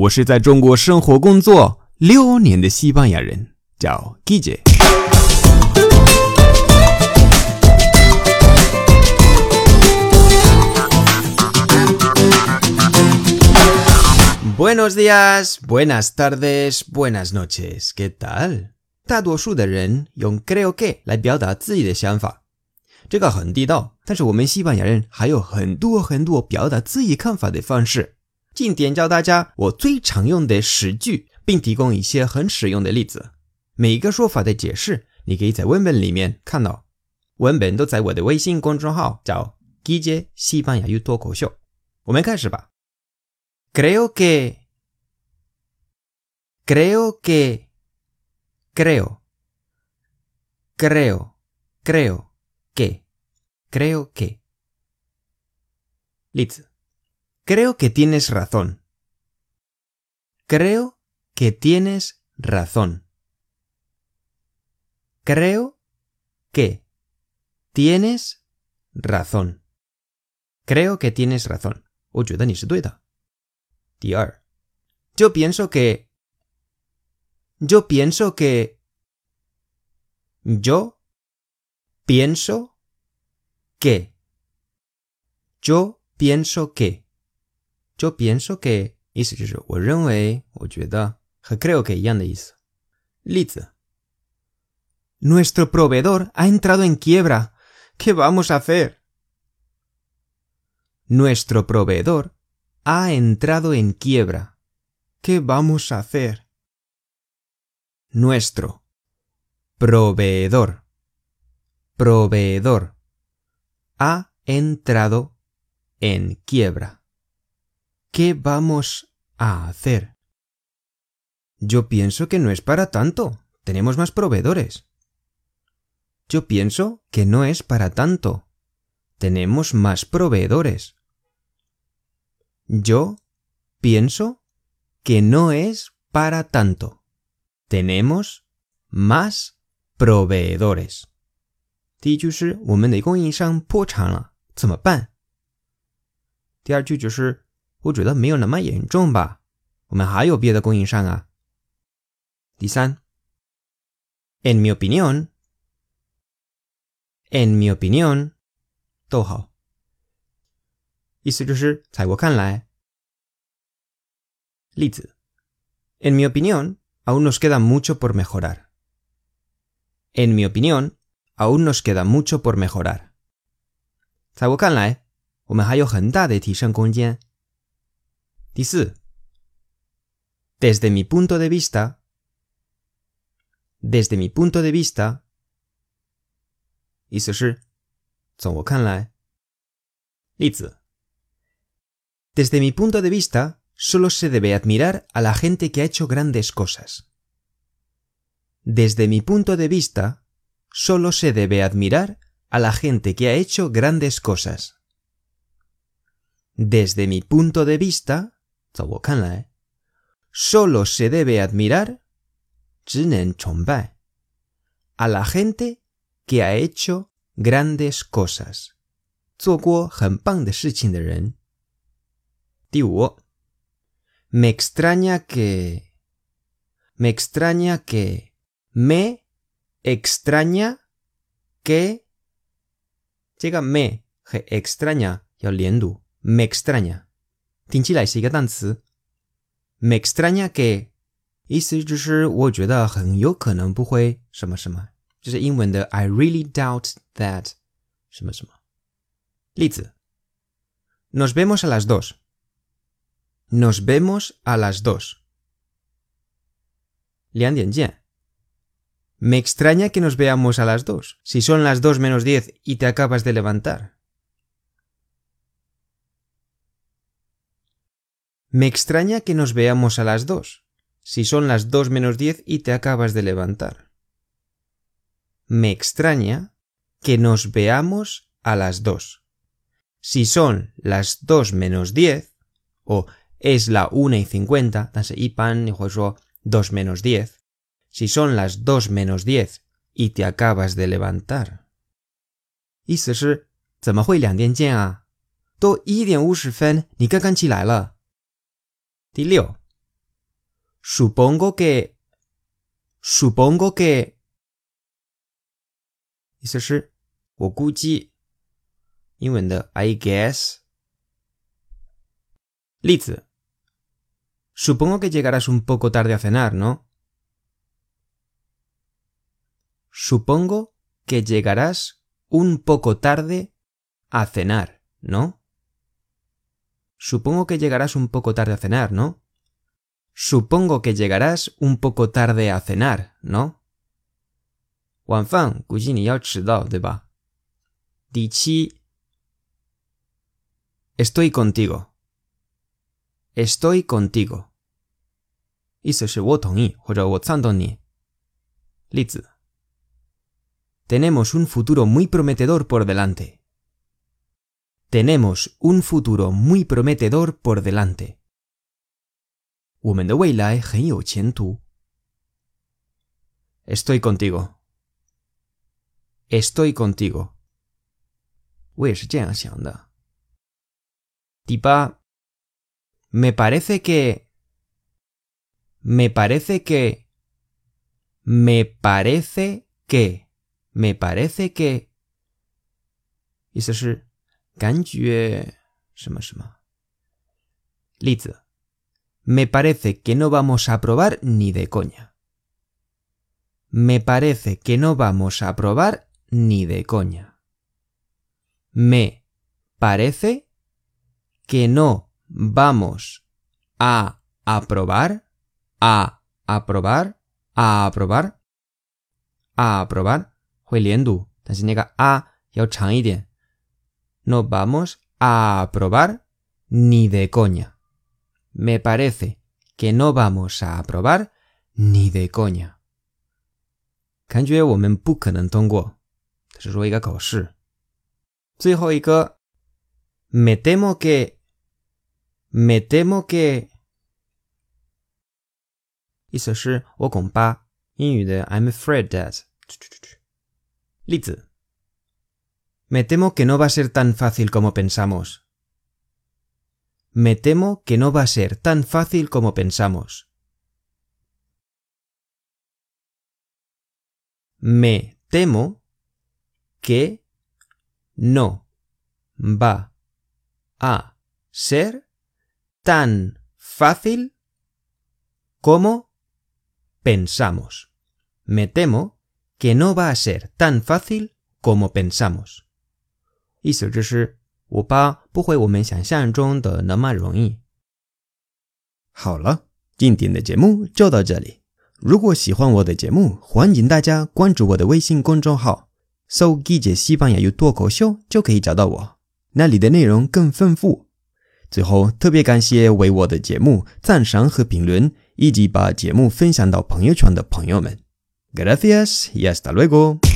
我是在中国生活工作6年的西班牙人，叫 Guille。Buenos días, buenas tardes, buenas noches. ¿Qué tal? 大多数的人用 creo que 来表达自己的想法，这个很地道，但是我们西班牙人还有很多表达自己看法的方式。今天教大家我最常用的10句，并提供一些很实用的例子。每一个说法的解释，你可以在文本里面看到。文本都在我的微信公众号，叫 Guille 西班牙语脱口秀。我们开始吧。Creo que Creo que Creo que 例子 Creo que tienes razón. Creo que tienes razón. Creo que tienes razón. Creo que tienes razón. 我觉得你是对的。第二 Yo pienso que Yo pienso que Yo pienso que Yo pienso que Yo pienso que 意思就是我认为我觉得和 creo que 一样的意思。例子 Nuestro proveedor ha entrado en quiebra. ¿Qué vamos a hacer? Nuestro proveedor ha entrado en quiebra. ¿Qué vamos a hacer? Nuestro proveedor ha entrado en quiebra. ¿Qué vamos a hacer? Yo pienso que no es para tanto. Tenemos más proveedores. Yo pienso que no es para tanto. Tenemos más proveedores. Yo pienso que no es para tanto. Tenemos más proveedores. 第一句是我们的供应商破产了，怎么办？第二句就是我觉得没有那么严重吧，我们还有别的供应商啊。第三 En mi opinión 逗号，意思就是在我看来。例子 En mi opinión aún nos queda mucho por mejorar. En mi opinión aún nos queda mucho por mejorar. 在我看来我们还有很大的提升空间。第四 Desde mi punto de vista意思是从我看来。例子 Desde mi punto de vista solo se debe admirar a la gente que ha hecho grandes cosas. Desde mi punto de vista solo se debe admirar a la gente que ha hecho grandes cosas. Desde mi punto de vista 从我看来 solo se debe admirar 只能崇拜 a la gente que ha hecho grandes cosas 做过很棒的事情的人。第五 Me extraña que Me extraña que 这个 me 和 extraña 要连读 Me extraña 听起来是一个单词 Me extraña que 意思就是我觉得很有可能不会什么什么，就是英文的 I really doubt that 什么什么。例子 Nos vemos a las 2 Nos vemos a las 2 2点见 Me extraña que nos veamos a las 2 si son las 2 menos 10 y te acabas de levantar. Me extraña que nos veamos a las 2 si son las 2 menos 10 y te acabas de levantar. Me extraña que nos veamos a las 2 si son las 2 menos 10 o es la 1:50 但是一般你会说 2 menos 10 si son las 2 menos 10 y te acabas de levantar. 意思是怎么会2点见啊？都1点50分，你刚刚起来了。第六 Supongo que 意思是我估计，英文的 I guess。例子 Supongo que llegarás un poco tarde a cenar, ¿no? Supongo que llegarás un poco tarde a cenar, ¿no? Supongo que llegarás un poco tarde a cenar, ¿no? Supongo que llegarás un poco tarde a cenar, ¿no? 晚饭估计你要迟到，对吧？第七 Estoy contigo. Estoy contigo. 意思是我同意或者我赞同你。例子 Tenemos un futuro muy prometedor por delante. Tenemos un futuro muy prometedor por delante. 我们的未来很有前途。Estoy contigo. Estoy contigo. 我也是这样想的。第八 Me parece que Me parece que Me parece que Me parece que 意思是感觉什么什么。例子 Me parece que no vamos a probar ni de coña. Me parece que no vamos a probar ni de coña. Me parece que no vamos a aprobar, a aprobar, a aprobar, a aprobar 会连读，但是那个 a 要长一点。No vamos a aprobar ni de coña. Me parece que no vamos a aprobar ni de coña. 感觉我们不可能通过，这是说一个考试。最后一个 Me temo que 意思是我恐怕，英语的 I'm afraid that 例子 Me temo que no va a ser tan fácil como pensamos. Me temo que no va a ser tan fácil como pensamos. Me temo que no va a ser tan fácil como pensamos. Me temo que no va a ser tan fácil como pensamos. 意思就是我怕不会我们想象中的那么容易。好了，今天的节目就到这里。如果喜欢我的节目，欢迎大家关注我的微信公众号，搜“理解西班牙语脱口秀”就可以找到我，那里的内容更丰富。最后，特别感谢为我的节目赞赏和评论，以及把节目分享到朋友圈的朋友们。Gracias y hasta luego.